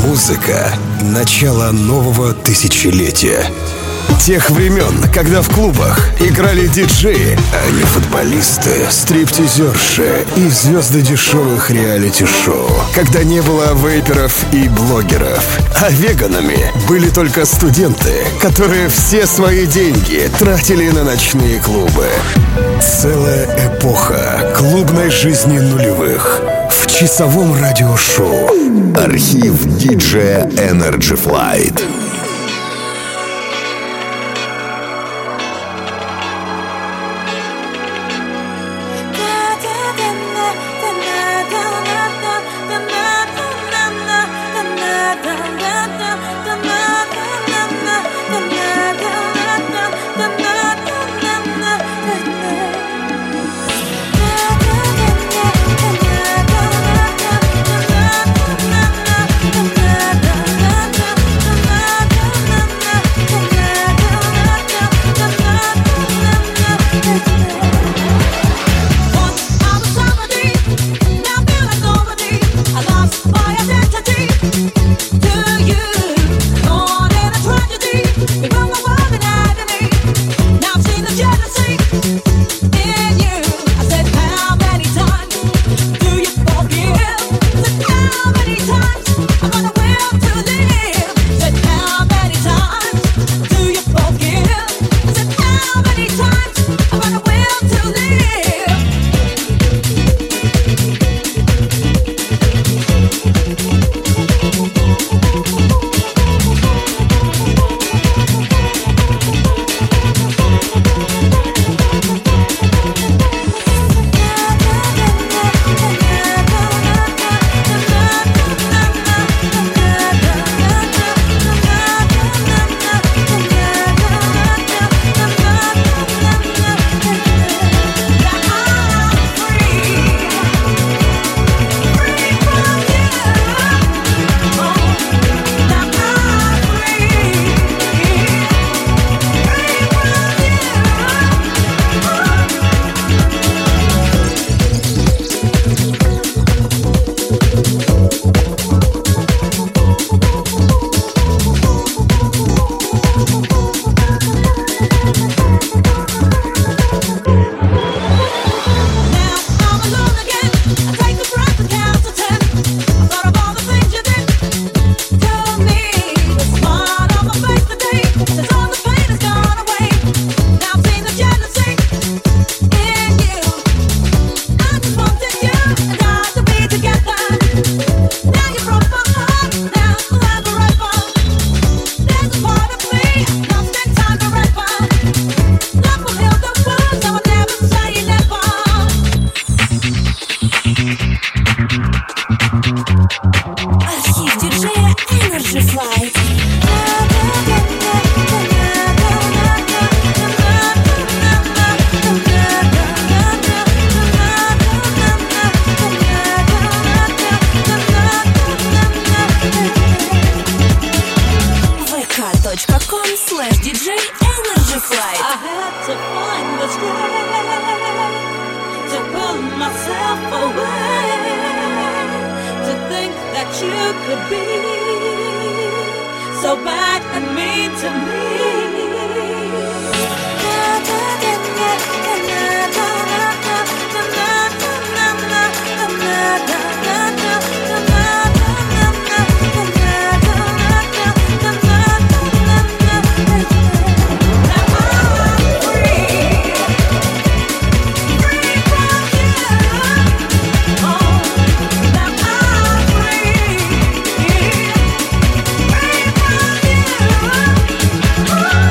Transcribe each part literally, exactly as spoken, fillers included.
Музыка — начало нового тысячелетия. Тех времен, когда в клубах играли диджеи, а не футболисты, стриптизерши и звезды дешевых реалити-шоу. Когда не было вейперов и блогеров, а веганами были только студенты, которые все свои деньги тратили на ночные клубы. Целая эпоха клубной жизни нулевых в часовом радиошоу. Архив диджея Energy Flight. Oh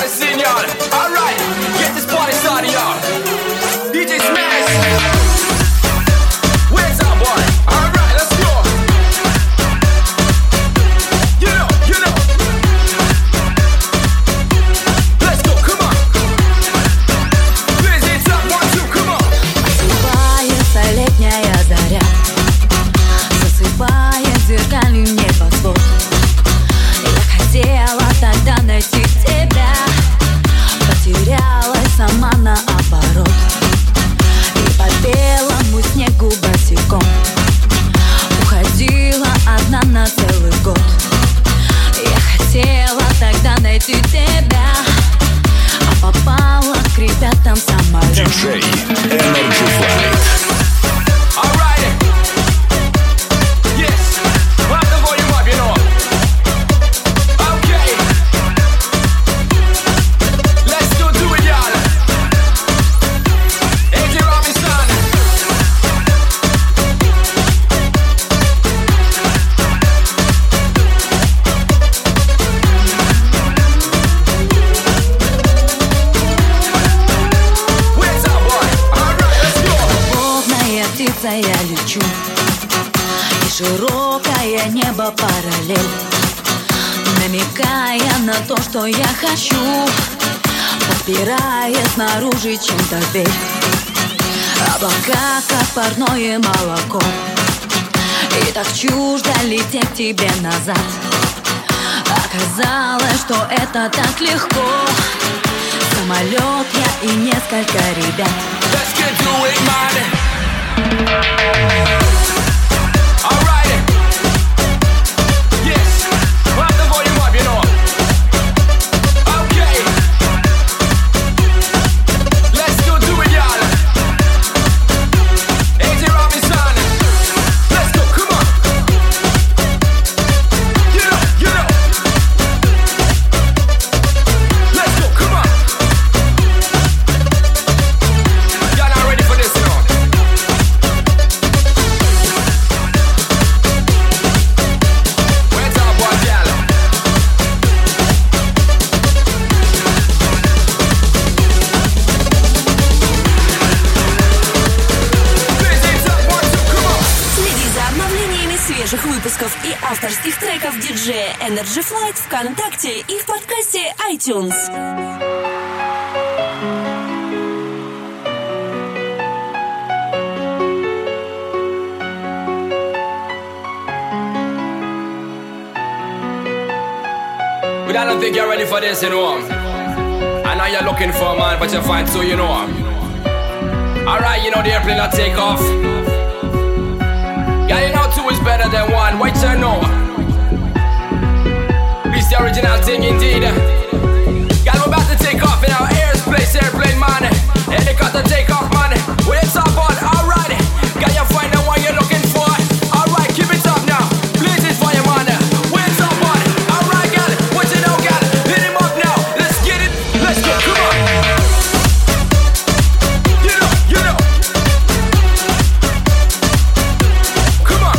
the scene, y'all. Alright, get this party started, y'all. D J Smash. Where's our boy? Alright, let's go. You know, you know. Let's go, come on. Please, it's up, one, two, come on. Осыпается летняя заря, засыпает зеркальный небосвод. Я хотела тогда найти тебя, потерялась сама наоборот. И по белому снегу босиком уходила одна на целый год. Я хотела тогда найти тебя, а попала к ребятам в самолет. Диджей Energy Flight. Alright. Yes. Rock the volume up, you know. Okay. Let's go do it, y'all. A J Robinson. Where's our boy? Alright, let's go. Любовная птица, я лечу, и широкое небо параллель, намекая на то, что я хочу, подпирая снаружи чем-то дверь. Облака, как парное молоко, и так чуждо лететь к тебе назад. Оказалось, что это так легко. Самолет я и несколько ребят. Let's get to it, man. Alright. Yes. Rock the volume up, you know. Okay. Let's go do it, y'all. A J Robinson. Let's go, come on. You know, you know. Let's go, come on. Y'all not ready for this, you know. Where's our boy, y'all? Please, it's up, one, two, come on. Следи за обновлениями свежих выпусков и авторских треков диджея Energy Flight ВКонтакте и в подкасте iTunes. But I don't think you're ready for this, you know. I know you're looking for a man, but you find two, you know. Alright, you know the airplane will take off. Yeah, you know two is better than one. Wait till you know. It's the original thing indeed. Yeah, we're about to take off in our airspace airplane, man. Helicopter take off, man. Wait, it's up on. Alright, can you find the one you're looking for? Alright, keep it up now. Please, it's for you, man. Wait, it's up on. Alright, gal. What you know, gal? Hit him up now. Let's get it. Let's go. Come on. You know, you know. Come on.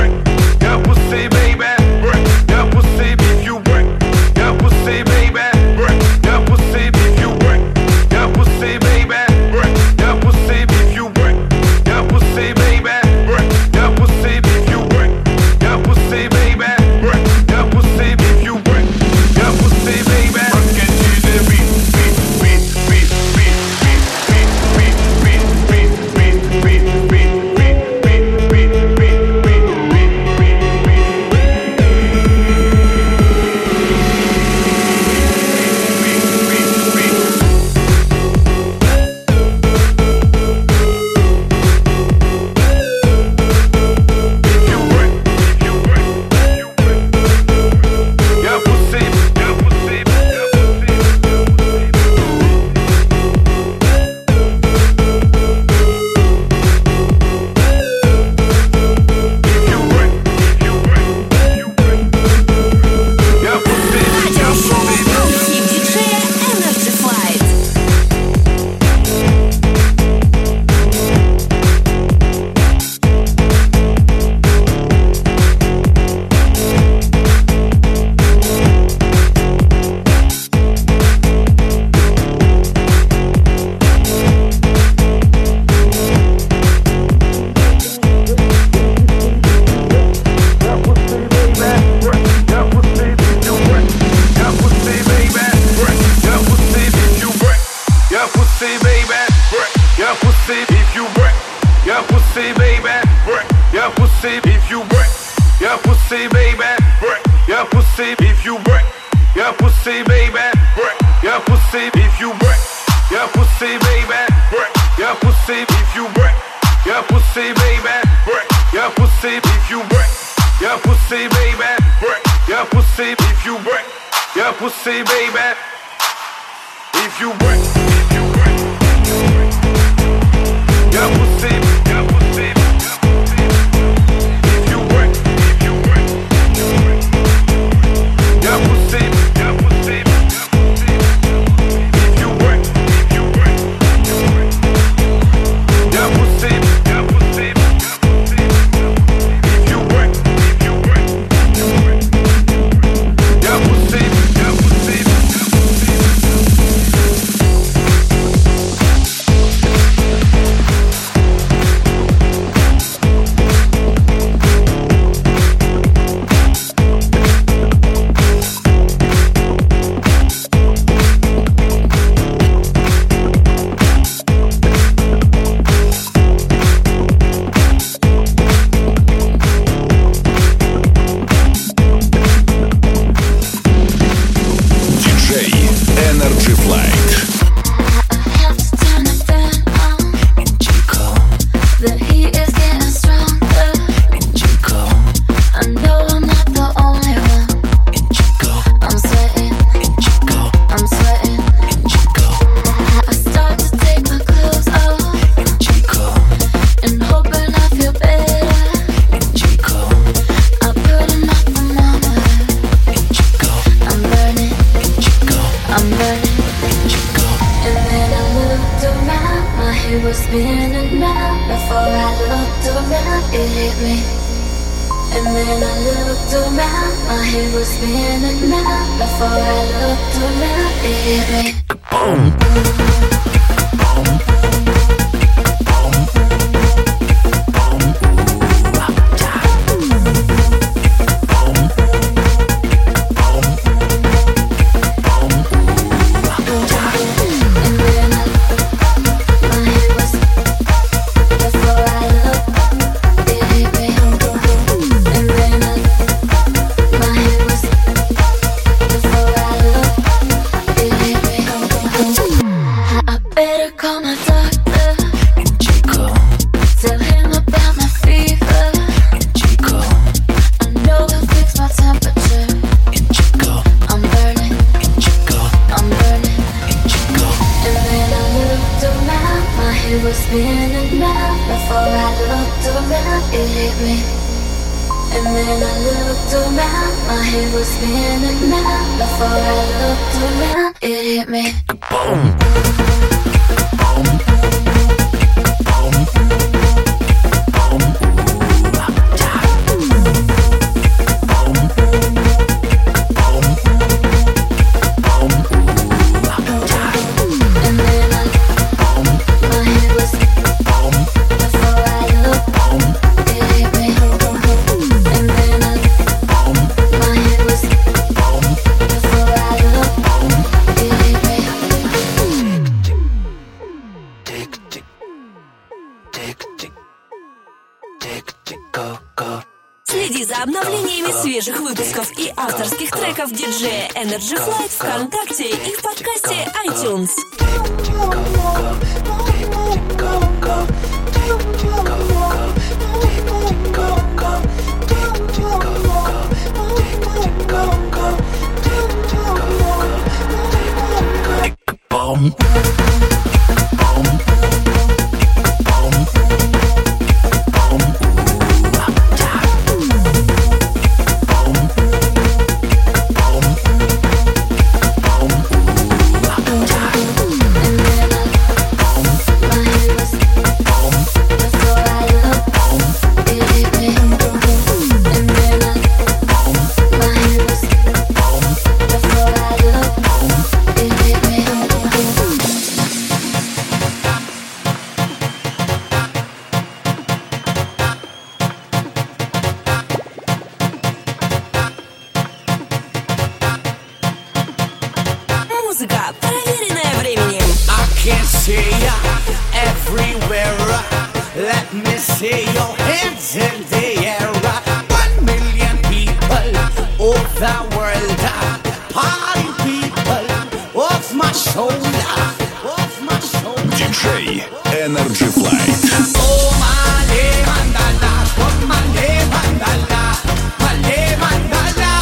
pussy, baby, break your pussy if you break your pussy, baby, break your pussy if you break your pussy, baby, break your pussy if you break your pussy, baby, break your pussy if you break your pussy, baby, break your pussy if you break your pussy, baby, if you break your pussy, your pussy. Следи за обновлениями свежих выпусков и авторских треков диджея Energy Flight ВКонтакте и в подкасте iTunes. Before I the world. Party people off my shoulder, off my shoulder. диджей Energy Flight. Oh, male mandala, oh, male mandala, male mandala.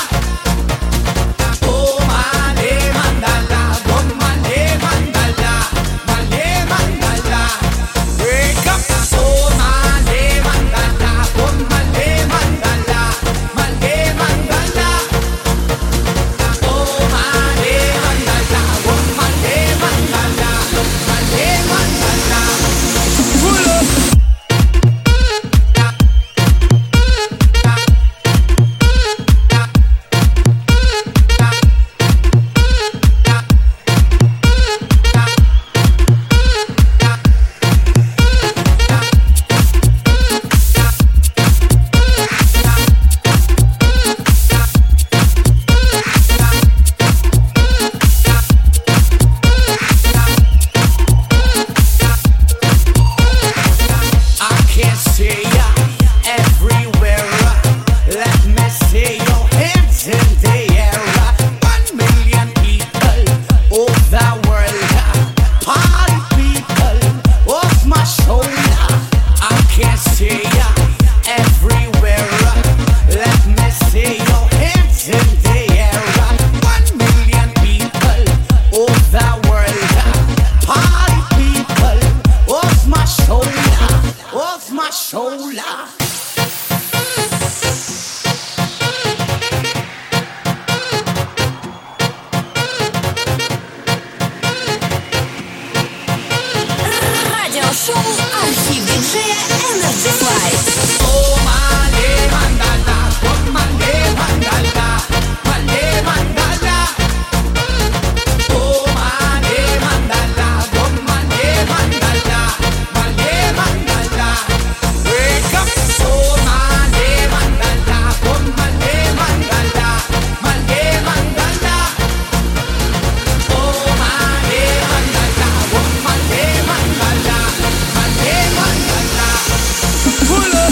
Oh, male mandala, oh, male mandala, male mandala. Wake up, oh, male mandala, oh, male mandala, male mandala. Oh, male mandala, oh, male mandala, male mandala. Pull up. I can see ya everywhere. Let me see your hands in the air. One million people of the world. Party people off my shoulder. I can see ya everywhere. Let me see your hands in the air. One million people of the world. Party people off my shoulder, off my shoulder. Радиошоу «Архив диджея Energy Flight». Oh, male mandala, oh, male mandala, male mandala. Oh, male mandala, oh, male mandala, male mandala. Wake up, oh, male mandala, oh, male mandala, male mandala. Oh, male mandala, oh, male mandala, male mandala. Pull up.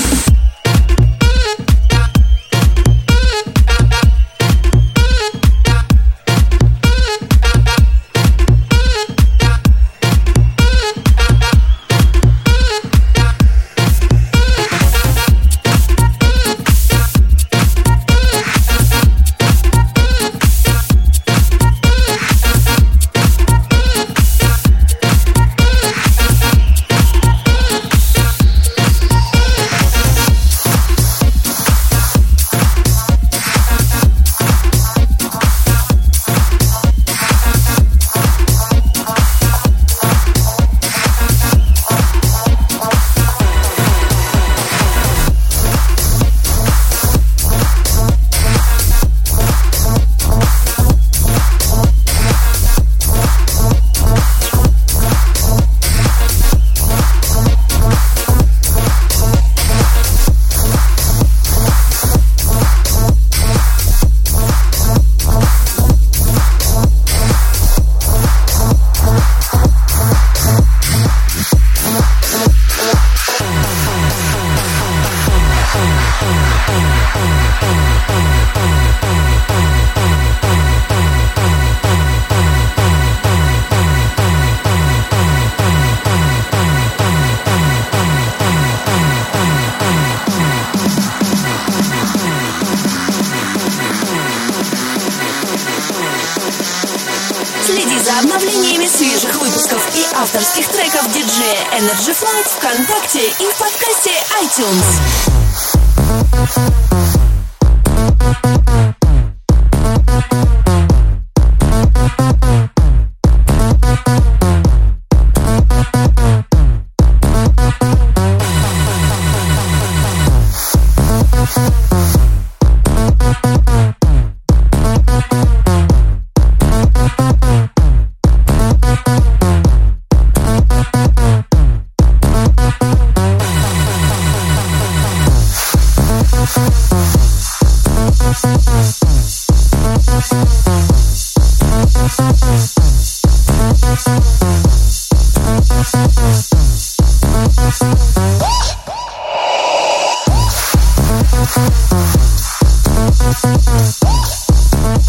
Следи за обновлениями свежих выпусков и авторских треков диджея Energy Flight ВКонтакте и в подкасте iTunes.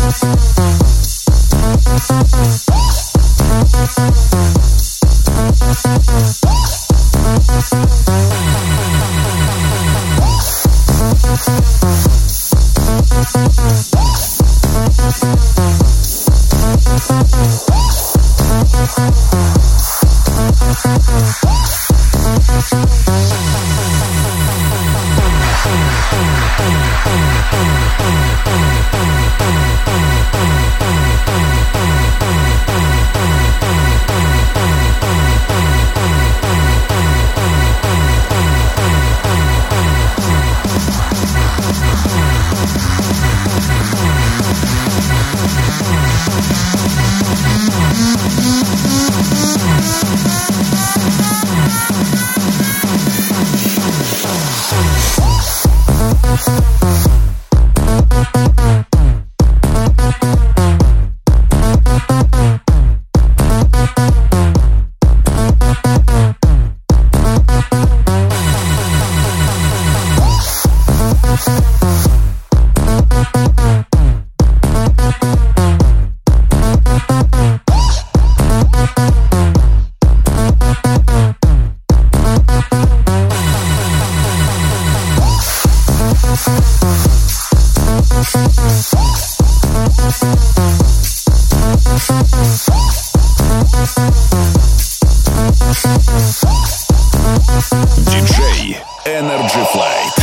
Диджей Energy Flight.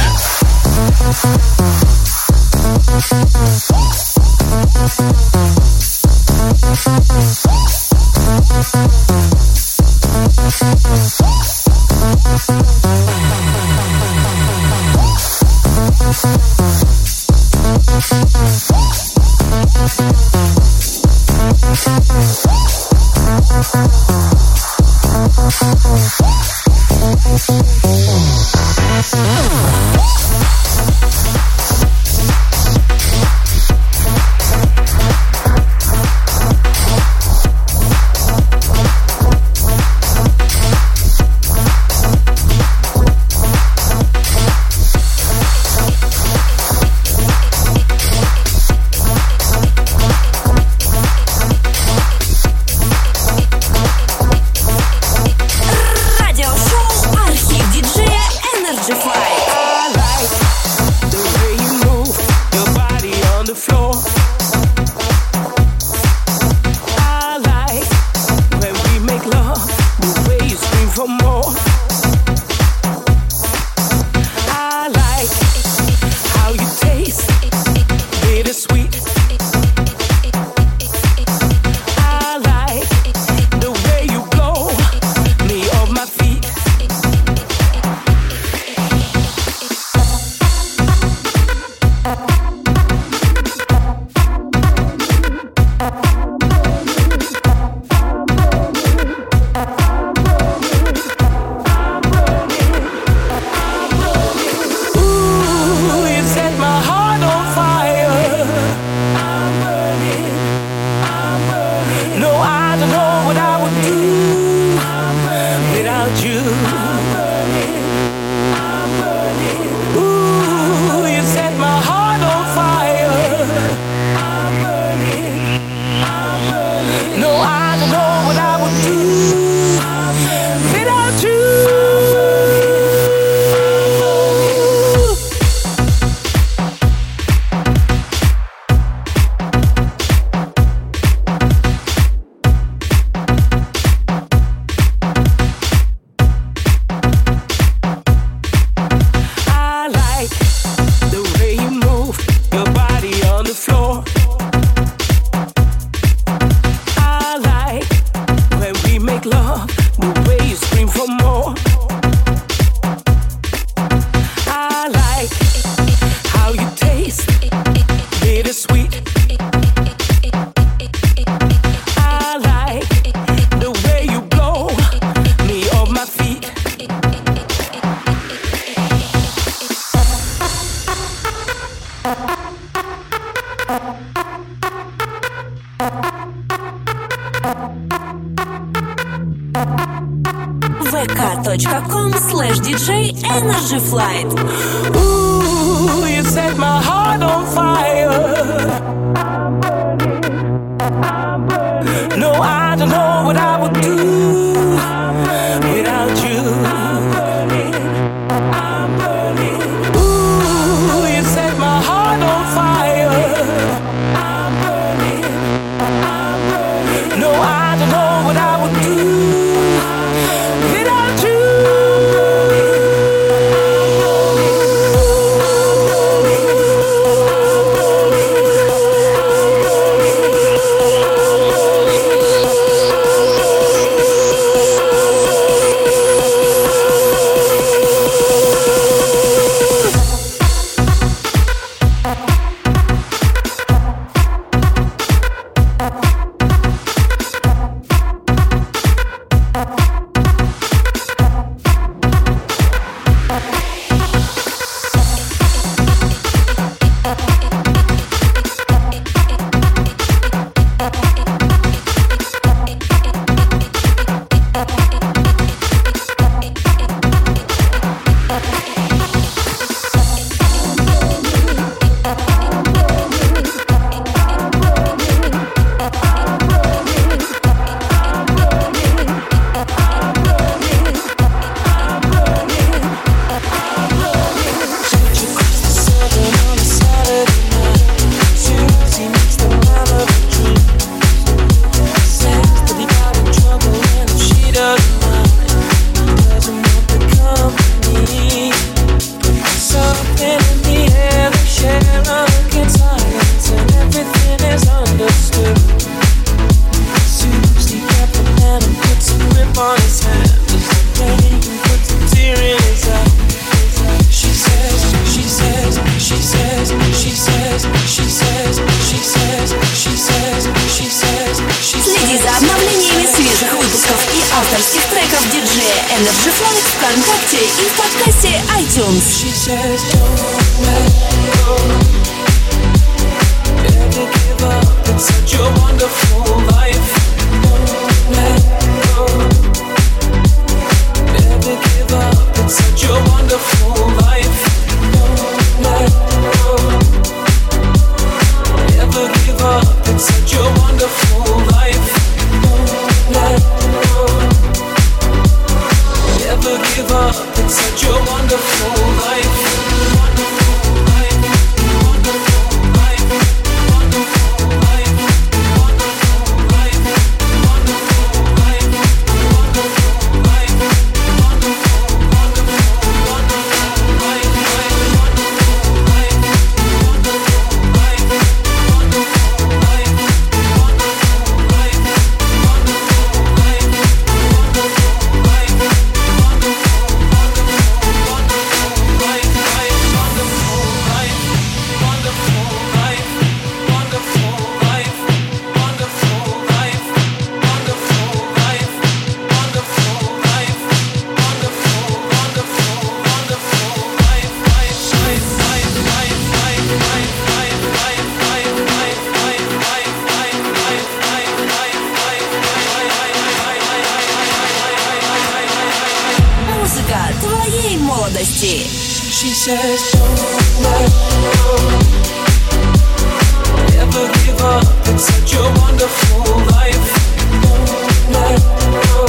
vk.com slash DJ Energy Flight. Ooh, you set my heart on fire. авторских треков диджея Energy Flight ВКонтакте и в подкасте iTunes. She says, don't let go. Never give up. It's such a wonderful life. Don't let go. Never give up. It's such a wonderful life. Don't let go. Never give up. It's such a wonderful life. Don't let go. Never give up. It's such a wonderful life. Wonderful life. Wonderful life. Wonderful life. Wonderful life. Wonderful life. Wonderful life. Wonderful, wonderful, wonderful life. Wonderful life. Wonderful life. Wonderful life. Wonderful life. Wonderful life. Wonderful life. Музыка твоей молодости. She says, don't let go. Never give up. It's such a wonderful life. Don't let go.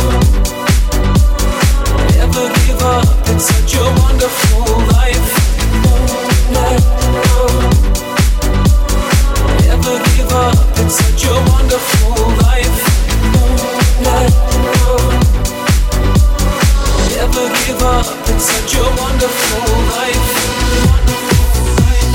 Never give up. It's such a wonderful life. Don't let go. Never give up. It's such a wonderful life. Don't let go. Never give up. It's such a wonderful life. Wonderful life.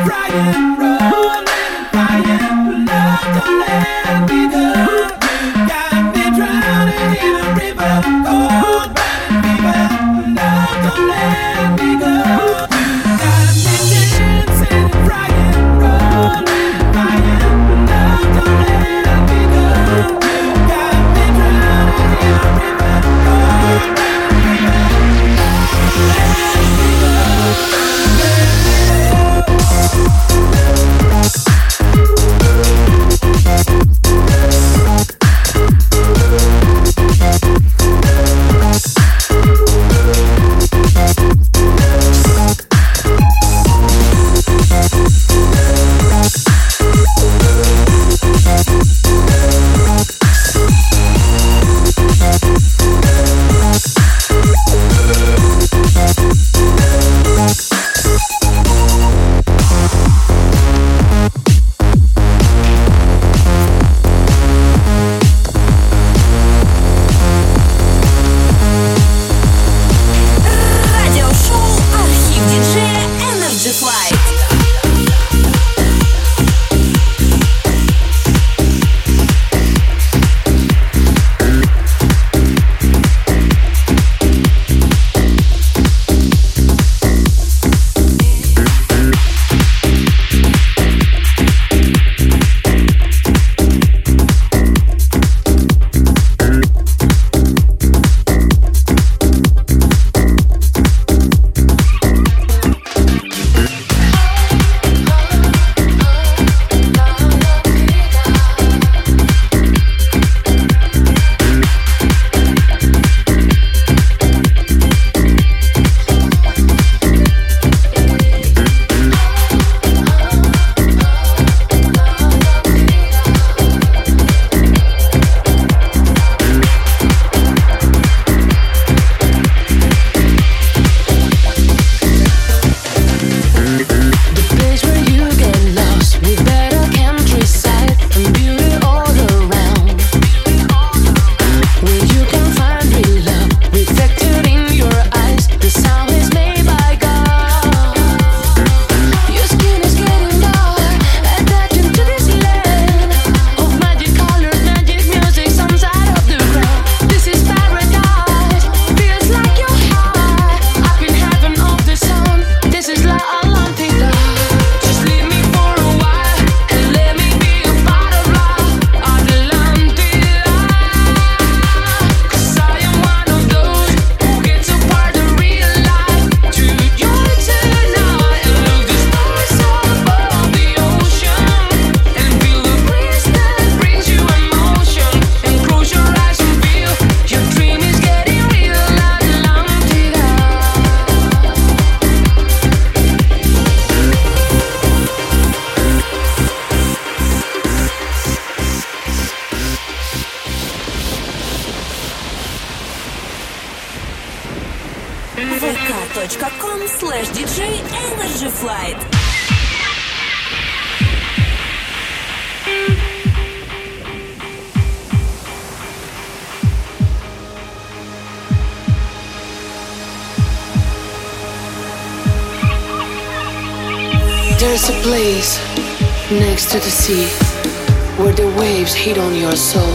vk.com slash dj Energy Flight. There's a place next to the sea where the waves hit on your soul,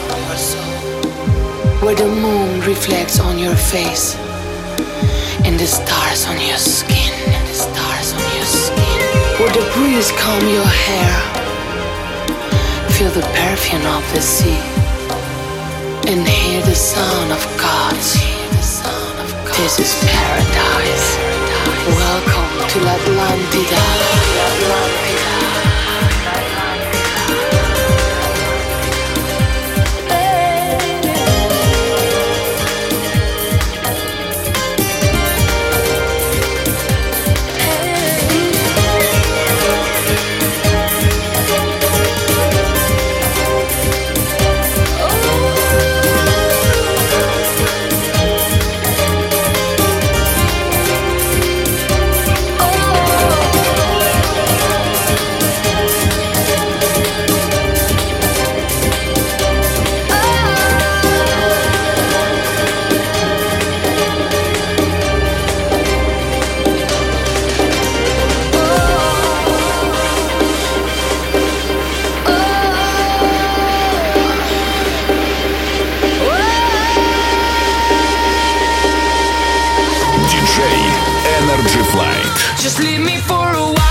where the moon reflects on your face and the stars on your skin, and the stars on your skin, where the breeze calm your hair, feel the perfume of the sea, and hear the sound of gods. This is paradise. Welcome to Atlantida. Atlantida. leave me for a while.